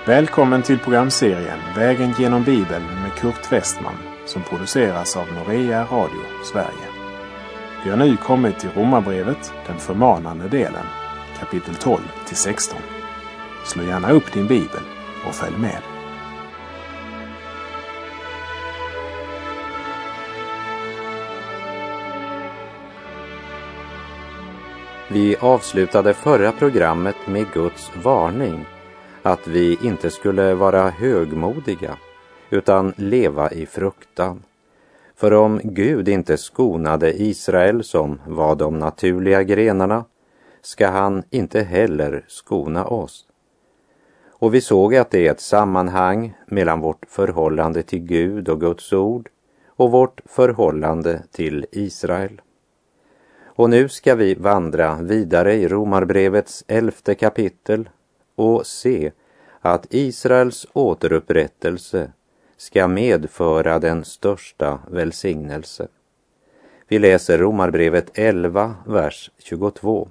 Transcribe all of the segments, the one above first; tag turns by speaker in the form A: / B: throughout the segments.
A: Välkommen till programserien Vägen genom Bibeln med Kurt Westman som produceras av Norea Radio Sverige. Vi har nu kommit till Romarbrevet, den förmanande delen, kapitel 12-16. Slå gärna upp din bibel och följ med.
B: Vi avslutade förra programmet med Guds varning att vi inte skulle vara högmodiga utan leva i fruktan. För om Gud inte skonade Israel som var de naturliga grenarna, ska han inte heller skona oss. Och vi såg att det är ett sammanhang mellan vårt förhållande till Gud och Guds ord och vårt förhållande till Israel. Och nu ska vi vandra vidare i Romarbrevets 11:e kapitel och se att Israels återupprättelse ska medföra den största välsignelse. Vi läser Romarbrevet 11, vers 22.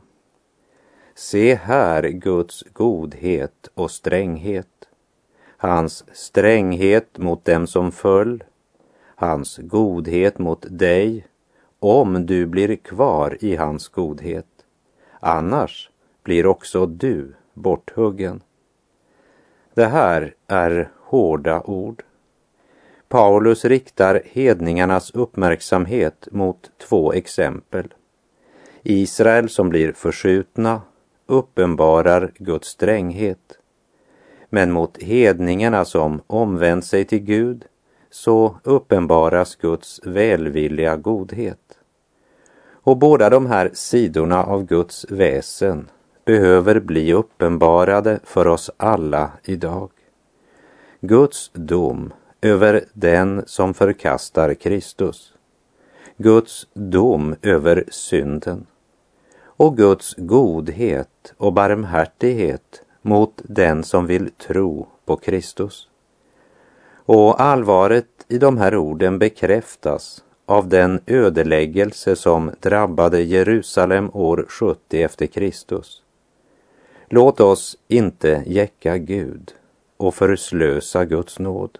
B: Se här Guds godhet och stränghet, hans stränghet mot dem som föll, hans godhet mot dig, om du blir kvar i hans godhet. Annars blir också du borthuggen. Det här är hårda ord. Paulus riktar hedningarnas uppmärksamhet mot två exempel. Israel som blir förskjutna uppenbarar Guds stränghet. Men mot hedningarna som omvänt sig till Gud så uppenbaras Guds välvilliga godhet. Och båda de här sidorna av Guds väsen behöver bli uppenbarade för oss alla idag. Guds dom över den som förkastar Kristus. Guds dom över synden. Och Guds godhet och barmhärtighet mot den som vill tro på Kristus. Och allvaret i de här orden bekräftas av den ödeläggelse som drabbade Jerusalem år 70 efter Kristus. Låt oss inte jäcka Gud och förslösa Guds nåd.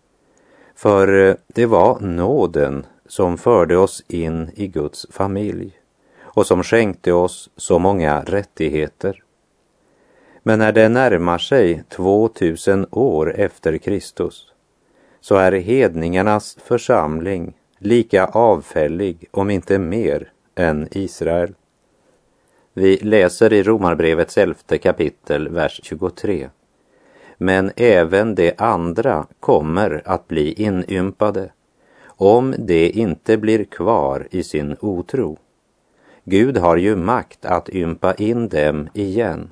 B: För det var nåden som förde oss in i Guds familj och som skänkte oss så många rättigheter. Men när det närmar sig 2000 år efter Kristus så är hedningarnas församling lika avfällig, om inte mer, än Israel. Vi läser i Romarbrevets 11:e kapitel, vers 23. Men även de andra kommer att bli inympade, om de inte blir kvar i sin otro. Gud har ju makt att ympa in dem igen.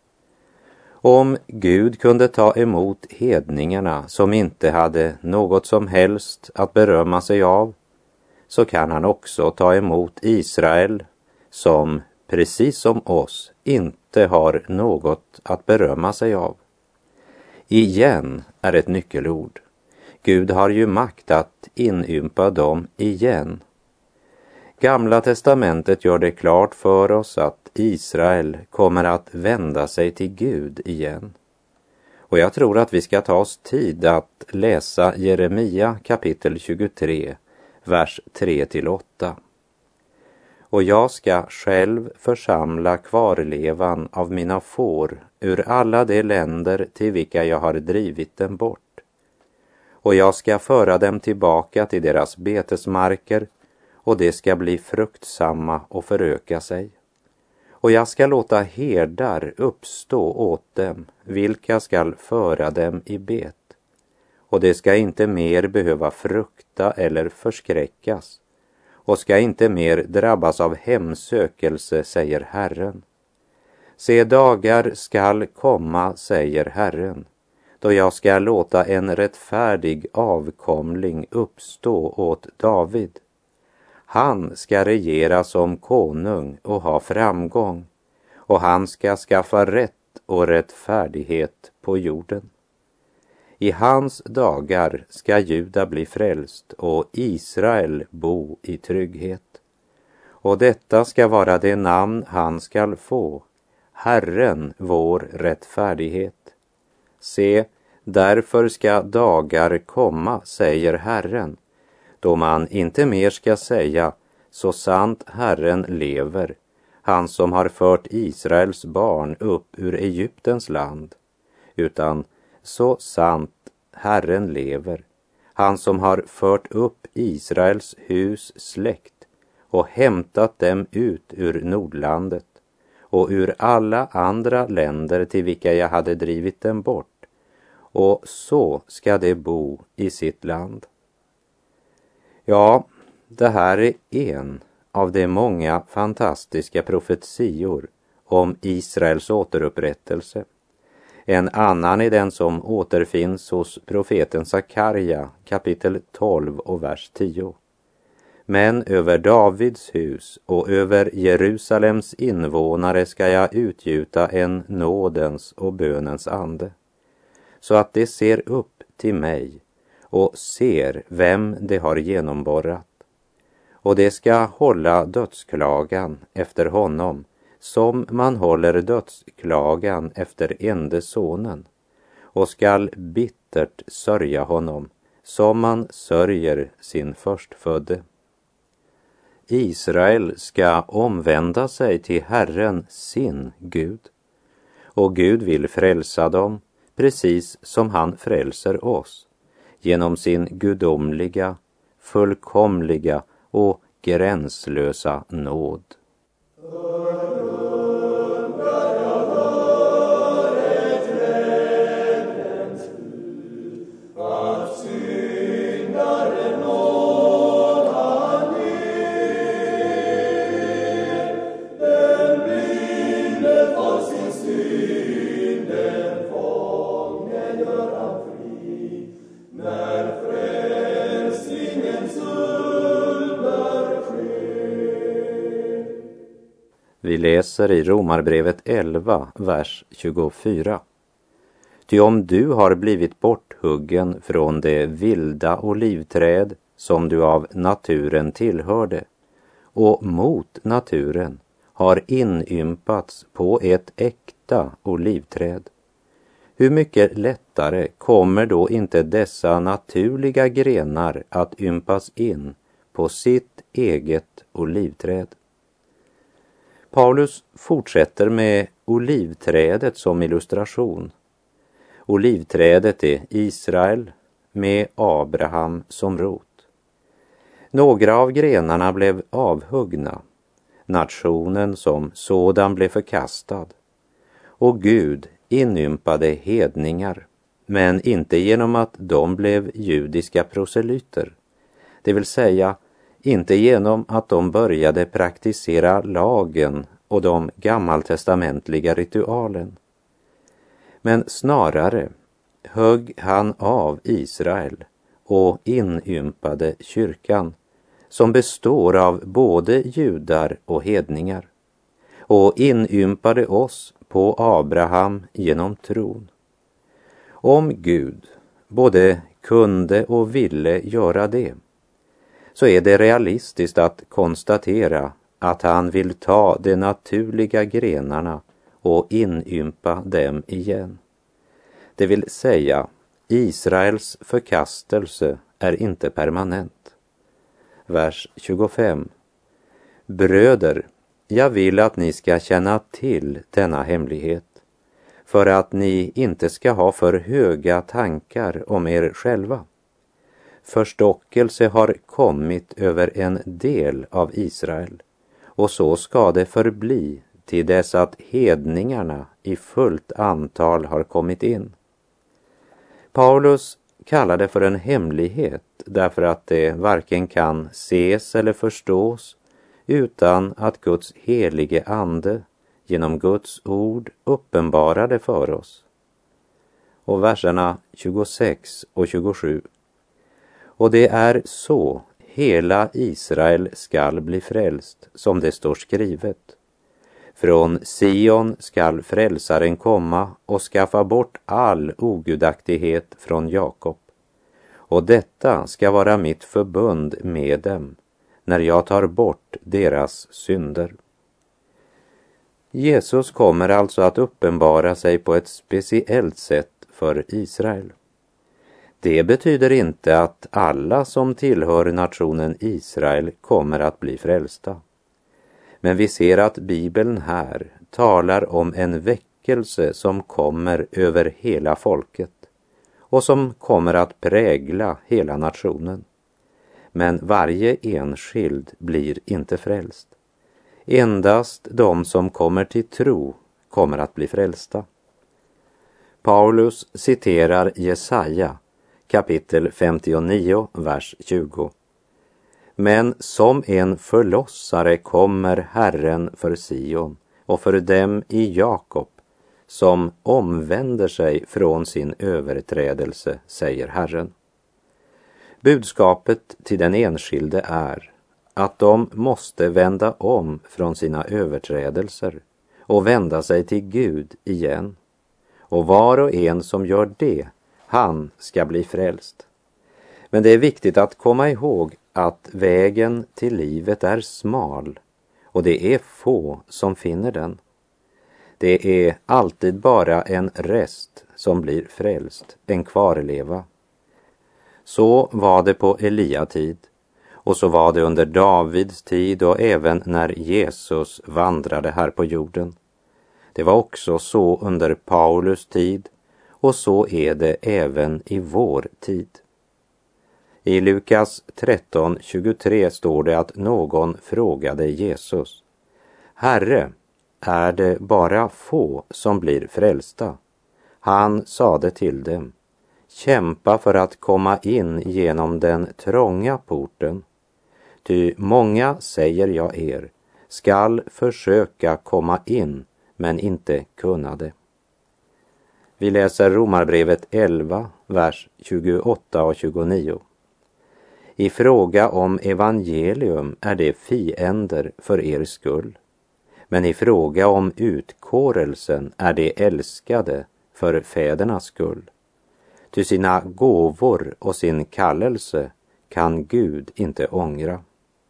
B: Om Gud kunde ta emot hedningarna som inte hade något som helst att berömma sig av, så kan han också ta emot Israel som, precis som oss, inte har något att berömma sig av. Igen är ett nyckelord. Gud har ju makt att inympa dem igen. Gamla testamentet gör det klart för oss att Israel kommer att vända sig till Gud igen. Och jag tror att vi ska ta oss tid att läsa Jeremia kapitel 23, vers 3-8. Och jag ska själv församla kvarlevan av mina får ur alla de länder till vilka jag har drivit dem bort. Och jag ska föra dem tillbaka till deras betesmarker, och det ska bli fruktsamma och föröka sig. Och jag ska låta herdar uppstå åt dem, vilka skall föra dem i bet. Och det ska inte mer behöva frukta eller förskräckas, och ska inte mer drabbas av hemsökelse, säger Herren. Se, dagar skall komma, säger Herren, då jag ska låta en rättfärdig avkomling uppstå åt David. Han ska regera som konung och ha framgång, och han ska skaffa rätt och rättfärdighet på jorden. I hans dagar ska Juda bli frälst och Israel bo i trygghet. Och detta ska vara det namn han skall få, Herren vår rättfärdighet. Se, därför ska dagar komma, säger Herren, då man inte mer ska säga, så sant Herren lever, han som har fört Israels barn upp ur Egyptens land, utan så sant Herren lever, han som har fört upp Israels hus släkt och hämtat dem ut ur Nordlandet och ur alla andra länder till vilka jag hade drivit dem bort, och så ska de bo i sitt land. Ja, det här är en av de många fantastiska profetior om Israels återupprättelse. En annan är den som återfinns hos profeten Sakarja, kapitel 12 och vers 10. Men över Davids hus och över Jerusalems invånare ska jag utgjuta en nådens och bönens ande, så att de ser upp till mig och ser vem de har genomborrat. Och de ska hålla dödsklagan efter honom, som man håller dödsklagan efter ende sonen, och skall bittert sörja honom, som man sörjer sin förstfödde. Israel ska omvända sig till Herren sin Gud, och Gud vill frälsa dem precis som han frälser oss, genom sin gudomliga, fullkomliga och gränslösa nåd. Vi läser i Romarbrevet 11, vers 24. Ty om du har blivit borthuggen från det vilda olivträd som du av naturen tillhörde, och mot naturen har inympats på ett äkta olivträd, hur mycket lättare kommer då inte dessa naturliga grenar att ympas in på sitt eget olivträd? Paulus fortsätter med olivträdet som illustration. Olivträdet är Israel med Abraham som rot. Några av grenarna blev avhuggna. Nationen som sådan blev förkastad. Och Gud inympade hedningar, men inte genom att de blev judiska proselyter. Det vill säga, inte genom att de började praktisera lagen och de gammaltestamentliga ritualen. Men snarare högg han av Israel och inympade kyrkan, som består av både judar och hedningar, och inympade oss på Abraham genom tron. Om Gud både kunde och ville göra det, så är det realistiskt att konstatera att han vill ta de naturliga grenarna och inympa dem igen. Det vill säga, Israels förkastelse är inte permanent. Vers 25. Bröder, jag vill att ni ska känna till denna hemlighet, för att ni inte ska ha för höga tankar om er själva. Förstockelse har kommit över en del av Israel, och så ska det förbli till dess att hedningarna i fullt antal har kommit in. Paulus kallar det för en hemlighet därför att det varken kan ses eller förstås utan att Guds helige ande genom Guds ord uppenbarar det för oss. Och verserna 26 och 27. Och det är så hela Israel skall bli frälst, som det står skrivet. Från Sion skall frälsaren komma och skaffa bort all ogudaktighet från Jakob. Och detta ska vara mitt förbund med dem, när jag tar bort deras synder. Jesus kommer alltså att uppenbara sig på ett speciellt sätt för Israel. Det betyder inte att alla som tillhör nationen Israel kommer att bli frälsta. Men vi ser att Bibeln här talar om en väckelse som kommer över hela folket och som kommer att prägla hela nationen. Men varje enskild blir inte frälst. Endast de som kommer till tro kommer att bli frälsta. Paulus citerar Jesaja kapitel 59, vers 20. Men som en förlossare kommer Herren för Sion och för dem i Jakob som omvänder sig från sin överträdelse, säger Herren. Budskapet till den enskilde är att de måste vända om från sina överträdelser och vända sig till Gud igen. Och var och en som gör det, han ska bli frälst. Men det är viktigt att komma ihåg att vägen till livet är smal och det är få som finner den. Det är alltid bara en rest som blir frälst, en kvarleva. Så var det på Elia tid och så var det under Davids tid och även när Jesus vandrade här på jorden. Det var också så under Paulus tid och så är det även i vår tid. I Lukas 13:23 står det att någon frågade Jesus: Herre, är det bara få som blir frälsta? Han sade till dem: kämpa för att komma in genom den trånga porten. Ty många, säger jag er, skall försöka komma in, men inte kunna det. Vi läser Romarbrevet 11, vers 28 och 29. I fråga om evangelium är det fiender för er skull, men i fråga om utkårelsen är det älskade för fädernas skull. Ty sina gåvor och sin kallelse kan Gud inte ångra.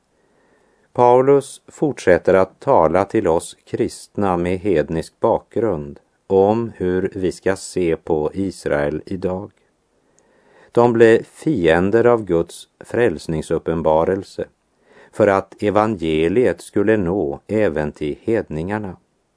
B: Paulus fortsätter att tala till oss kristna med hednisk bakgrund om hur vi ska se på Israel idag. De blev fiender av Guds frälsningsuppenbarelse för att evangeliet skulle nå även till hedningarna.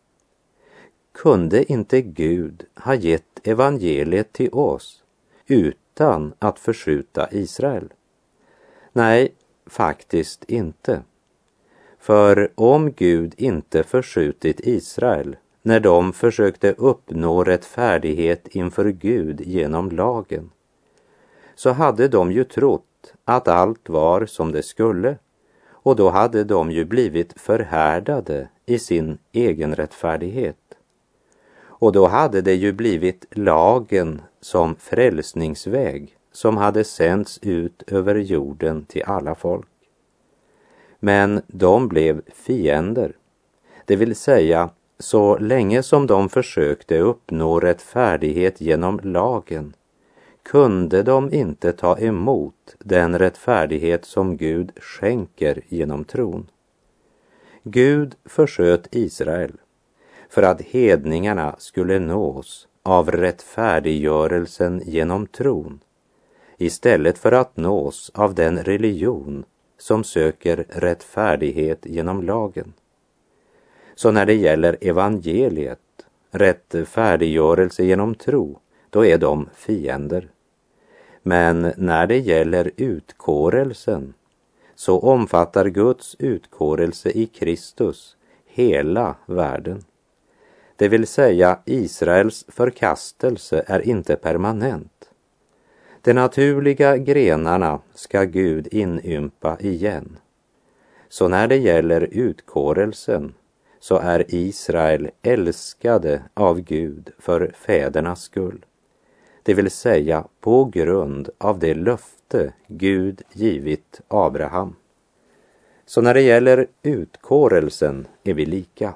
B: Kunde inte Gud ha gett evangeliet till oss utan att förskjuta Israel? Nej, faktiskt inte. För om Gud inte förskjutit Israel när de försökte uppnå rättfärdighet inför Gud genom lagen, så hade de ju trott att allt var som det skulle, och då hade de ju blivit förhärdade i sin egen rättfärdighet. Och då hade det ju blivit lagen som frälsningsväg som hade sänts ut över jorden till alla folk. Men de blev fiender, det vill säga så länge som de försökte uppnå rättfärdighet genom lagen kunde de inte ta emot den rättfärdighet som Gud skänker genom tron. Gud försköt Israel för att hedningarna skulle nås av rättfärdiggörelsen genom tron, istället för att nås av den religion som söker rättfärdighet genom lagen. Så när det gäller evangeliet, rättfärdiggörelse genom tro, då är de fiender. Men när det gäller utkårelsen, så omfattar Guds utkårelse i Kristus hela världen. Det vill säga, Israels förkastelse är inte permanent. De naturliga grenarna ska Gud inympa igen. Så när det gäller utkårelsen, så är Israel älskade av Gud för fädernas skull. Det vill säga på grund av det löfte Gud givit Abraham. Så när det gäller utkårelsen är vi lika.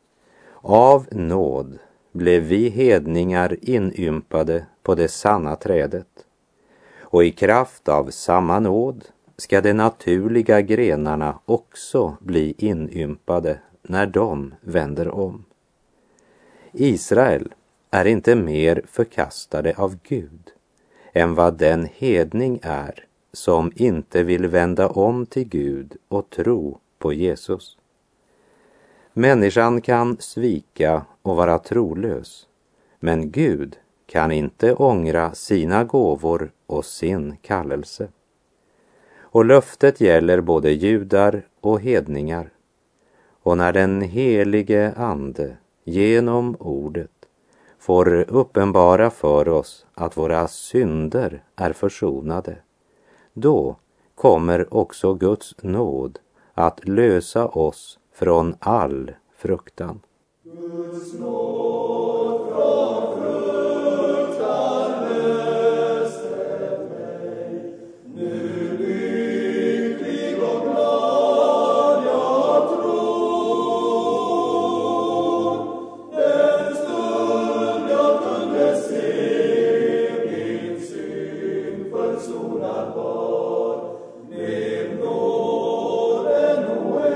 B: Av nåd blev vi hedningar inympade på det sanna trädet. Och i kraft av samma nåd ska de naturliga grenarna också bli inympade när de vänder om. Israel är inte mer förkastade av Gud än vad den hedning är som inte vill vända om till Gud och tro på Jesus. Människan kan svika och vara trolös, men Gud kan inte ångra sina gåvor och sin kallelse. Och löftet gäller både judar och hedningar. Och när den helige Ande genom ordet får uppenbara för oss att våra synder är försonade, då kommer också Guds nåd att lösa oss från all fruktan.
C: Guds nåd från fruktan löste mig. Nu lycklig och glad jag tror. Den stund jag kunde se min synd försonad var, blev nåden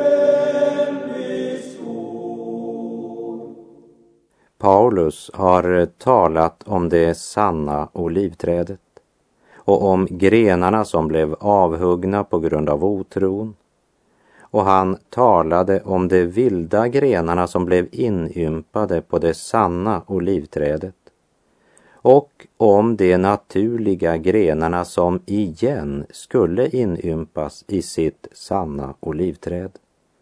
C: oändligt stor.
B: Paulus har talat om det sanna olivträdet och om grenarna som blev avhuggna på grund av otron. Och han talade om de vilda grenarna som blev inympade på det sanna olivträdet och om de naturliga grenarna som igen skulle inympas i sitt sanna olivträd.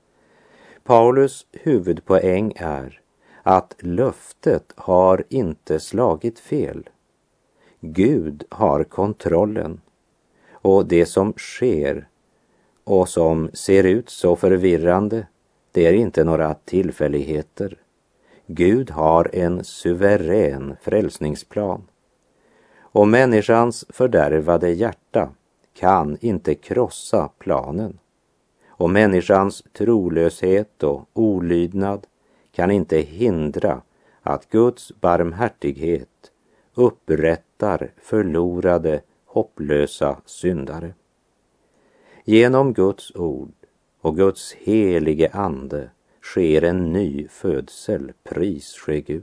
B: Paulus huvudpoäng är att löftet har inte slagit fel. Gud har kontrollen, och det som sker och som ser ut så förvirrande, det är inte några tillfälligheter. Gud har en suverän frälsningsplan, och människans fördärvade hjärta kan inte krossa planen, och människans trolöshet och olydnad kan inte hindra att Guds barmhärtighet upprättar förlorade, hopplösa syndare. Genom Guds ord och Guds helige ande sker en ny födsel, pris ske Gud.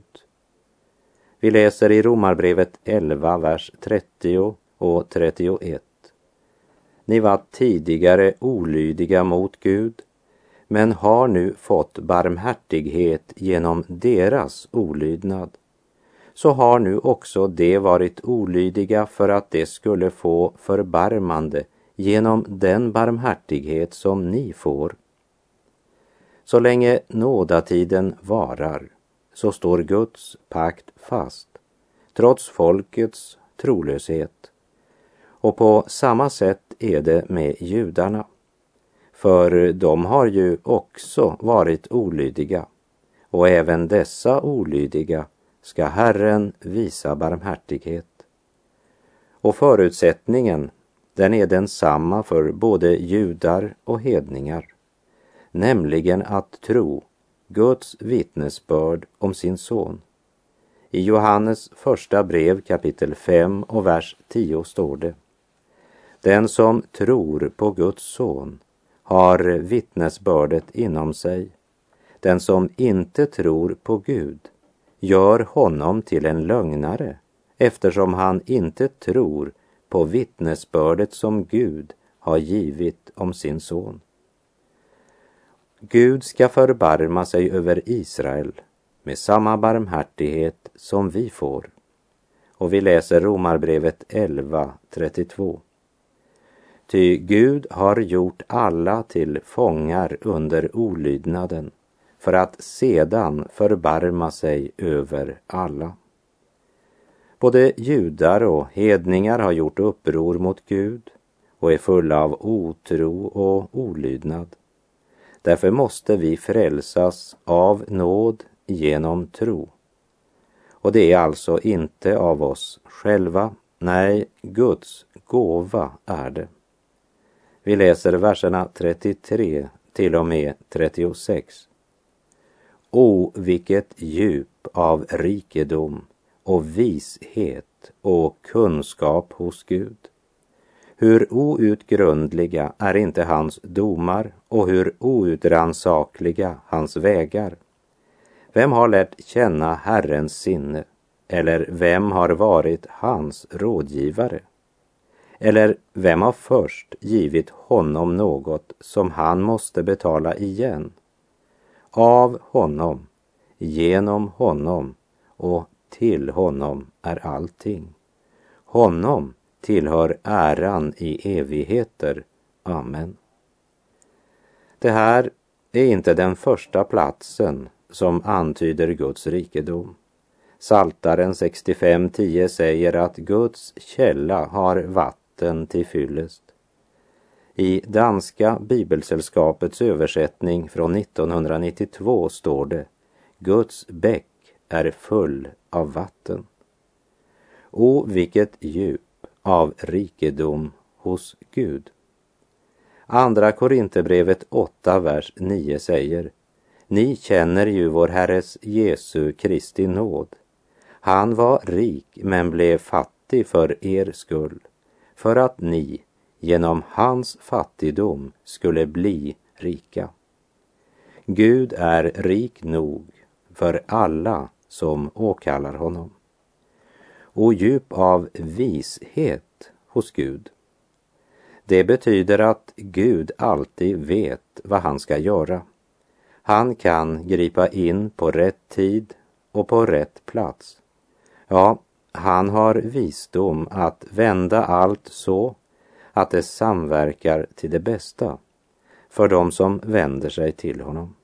B: Vi läser i Romarbrevet 11, vers 30 och 31. Ni var tidigare olydiga mot Gud, men har nu fått barmhärtighet genom deras olydnad. Så har nu också de varit olydiga för att de skulle få förbarmande genom den barmhärtighet som ni får. Så länge nådatiden varar, så står Guds pakt fast, trots folkets trolöshet. Och på samma sätt är det med judarna. För de har ju också varit olydiga, och även dessa olydiga ska Herren visa barmhärtighet. Och förutsättningen, den är densamma för både judar och hedningar, nämligen att tro Guds vittnesbörd om sin son. I Johannes första brev kapitel 5 och vers 10 står det: Den som tror på Guds son har vittnesbördet inom sig. Den som inte tror på Gud gör honom till en lögnare, eftersom han inte tror på vittnesbördet som Gud har givit om sin son. Gud ska förbarma sig över Israel med samma barmhärtighet som vi får. Och vi läser Romarbrevet 11:32. Ty Gud har gjort alla till fångar under olydnaden, för att sedan förbarma sig över alla. Både judar och hedningar har gjort uppror mot Gud och är fulla av otro och olydnad. Därför måste vi frälsas av nåd genom tro. Och det är alltså inte av oss själva, nej, Guds gåva är det. Vi läser verserna 33 till och med 36. O, vilket djup av rikedom och vishet och kunskap hos Gud. Hur outgrundliga är inte hans domar och hur outrannsakliga hans vägar. Vem har lärt känna Herrens sinne? Eller vem har varit hans rådgivare? Eller vem har först givit honom något som han måste betala igen? Av honom, genom honom och till honom är allting. Honom tillhör äran i evigheter. Amen. Det här är inte den första platsen som antyder Guds rikedom. Psaltaren 65:10 säger att Guds källa har vatten till fyllest. I danska bibelsällskapets översättning från 1992 står det: Guds bäck är full av vatten. Och vilket djup av rikedom hos Gud. Andra Korinthierbrevet 8, vers 9 säger: Ni känner ju vår Herres Jesu Kristi nåd. Han var rik men blev fattig för er skull, för att ni genom hans fattigdom skulle bli rika. Gud är rik nog för alla som åkallar honom. Och djup av vishet hos Gud. Det betyder att Gud alltid vet vad han ska göra. Han kan gripa in på rätt tid och på rätt plats. Ja, han har visdom att vända allt så att det samverkar till det bästa för de som vänder sig till honom.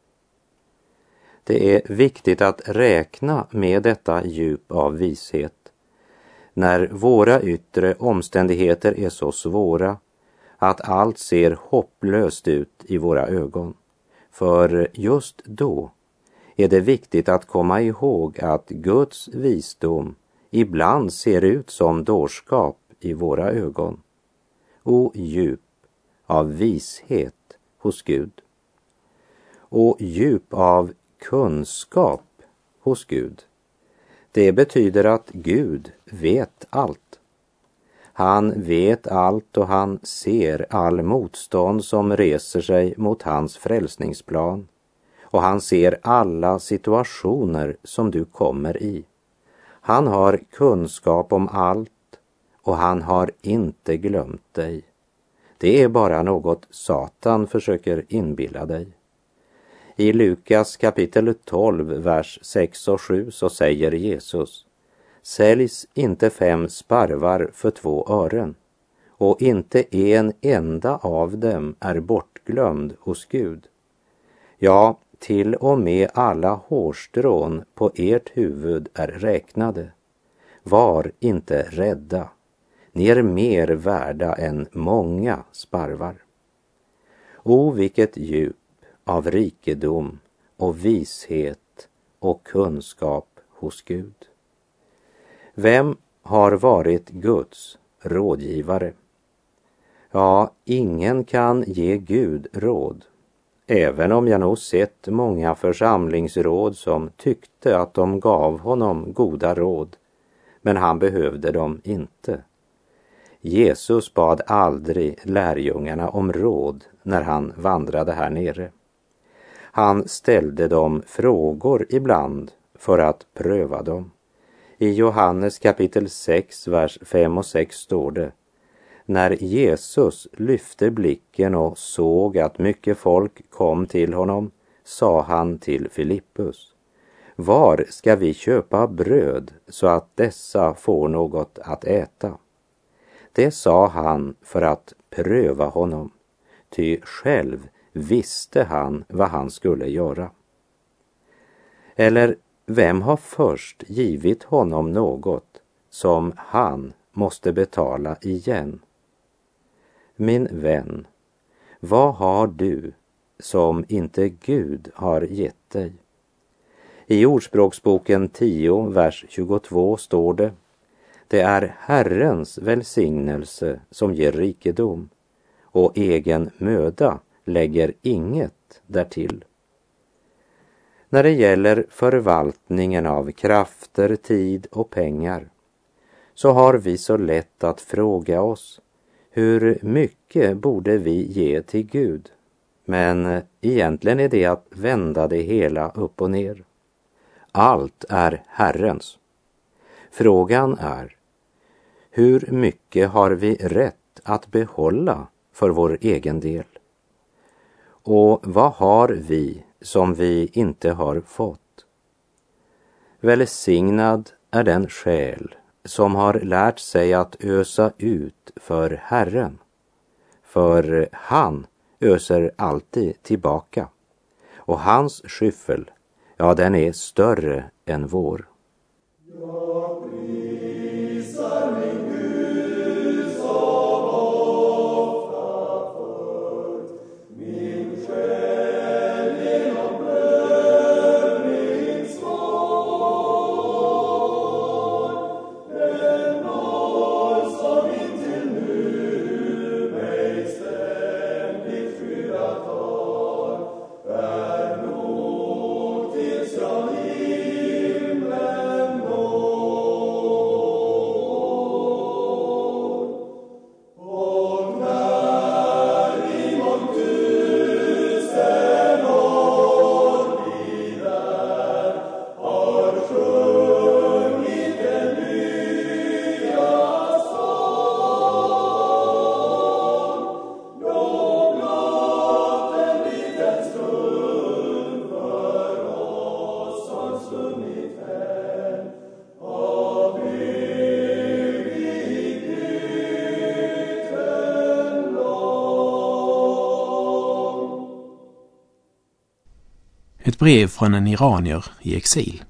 B: Det är viktigt att räkna med detta djup av vishet när våra yttre omständigheter är så svåra att allt ser hopplöst ut i våra ögon. För just då är det viktigt att komma ihåg att Guds visdom ibland ser ut som dårskap i våra ögon. Och djup av vishet hos Gud. Och djup av kunskap hos Gud. Det betyder att Gud vet allt. Han vet allt och han ser all motstånd som reser sig mot hans frälsningsplan. Och han ser alla situationer som du kommer i. Han har kunskap om allt och han har inte glömt dig. Det är bara något Satan försöker inbilla dig. I Lukas kapitel 12, vers 6 och 7 så säger Jesus: Säljs inte 5 sparvar för 2 ören, och inte en enda av dem är bortglömd hos Gud. Ja, till och med alla hårstrån på ert huvud är räknade. Var inte rädda. Ni är mer värda än många sparvar. O, vilket djup av rikedom och vishet och kunskap hos Gud. Vem har varit Guds rådgivare? Ja, ingen kan ge Gud råd. Även om jag nog sett många församlingsråd som tyckte att de gav honom goda råd, men han behövde dem inte. Jesus bad aldrig lärjungarna om råd när han vandrade här nere. Han ställde dem frågor ibland för att pröva dem. I Johannes kapitel 6, vers 5 och 6 står det: När Jesus lyfte blicken och såg att mycket folk kom till honom, sa han till Filippus: Var ska vi köpa bröd så att dessa får något att äta? Det sa han för att pröva honom, ty själv visste han vad han skulle göra. Eller vem har först givit honom något som han måste betala igen? Min vän, vad har du som inte Gud har gett dig? I Ordspråksboken 10, vers 22 står det: Det är Herrens välsignelse som ger rikedom, och egen möda lägger inget därtill. När det gäller förvaltningen av krafter, tid och pengar så har vi så lätt att fråga oss: hur mycket borde vi ge till Gud? Men egentligen är det att vända det hela upp och ner. Allt är Herrens. Frågan är, hur mycket har vi rätt att behålla för vår egen del? Och vad har vi som vi inte har fått? Välsignad är den själ som har lärt sig att ösa ut för Herren, för han öser alltid tillbaka, och hans skyffel, ja, den är större än vår.
A: Ett brev från en iranier i exil.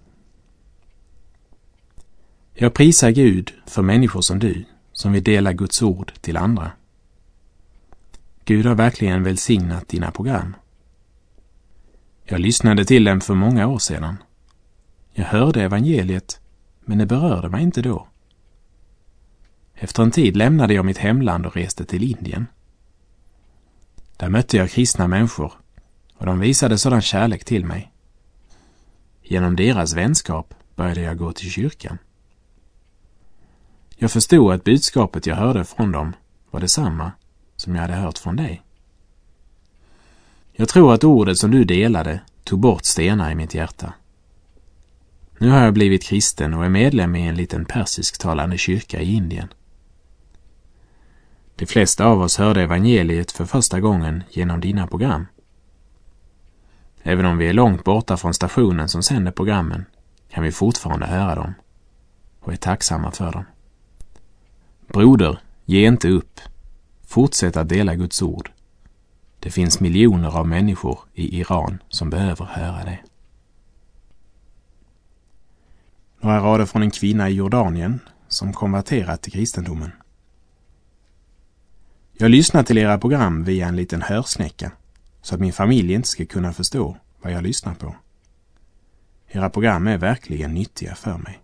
A: Jag prisar Gud för människor som du, som vill dela Guds ord till andra. Gud har verkligen välsignat dina program. Jag lyssnade till dem för många år sedan. Jag hörde evangeliet, men det berörde mig inte då. Efter en tid lämnade jag mitt hemland och reste till Indien. Där mötte jag kristna människor, och de visade sådan kärlek till mig. Genom deras vänskap började jag gå till kyrkan. Jag förstod att budskapet jag hörde från dem var detsamma som jag hade hört från dig. Jag tror att ordet som du delade tog bort stenar i mitt hjärta. Nu har jag blivit kristen och är medlem i en liten persisktalande kyrka i Indien. De flesta av oss hörde evangeliet för första gången genom dina program. Även om vi är långt borta från stationen som sänder programmen kan vi fortfarande höra dem och är tacksamma för dem. Broder, ge inte upp. Fortsätt att dela Guds ord. Det finns miljoner av människor i Iran som behöver höra det. Några rader från en kvinna i Jordanien som konverterat till kristendomen. Jag lyssnar till era program via en liten hörsnäcka så att min familj inte ska kunna förstå vad jag lyssnar på. Era program är verkligen nyttiga för mig.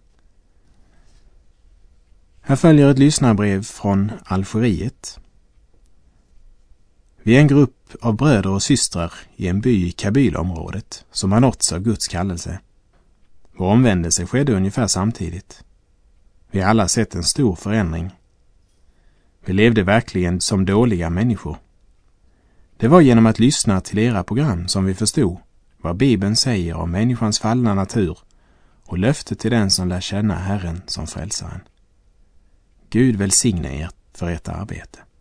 A: Här följer ett lyssnarbrev från Algeriet. Vi är en grupp av bröder och systrar i en by i Kabylområdet som har nåtts av Guds kallelse. Vår omvändelse skedde ungefär samtidigt. Vi har alla sett en stor förändring. Vi levde verkligen som dåliga människor. Det var genom att lyssna till era program som vi förstod vad Bibeln säger om människans fallna natur och löftet till den som lär känna Herren som frälsaren. Gud välsigne er för ert arbete.